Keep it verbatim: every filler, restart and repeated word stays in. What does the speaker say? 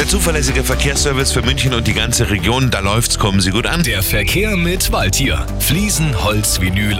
zuverlässige Verkehrsservice für München und die ganze Region. Da läuft's, kommen Sie gut an. Der Verkehr mit Waldtier. Fliesen, Holz, Vinyl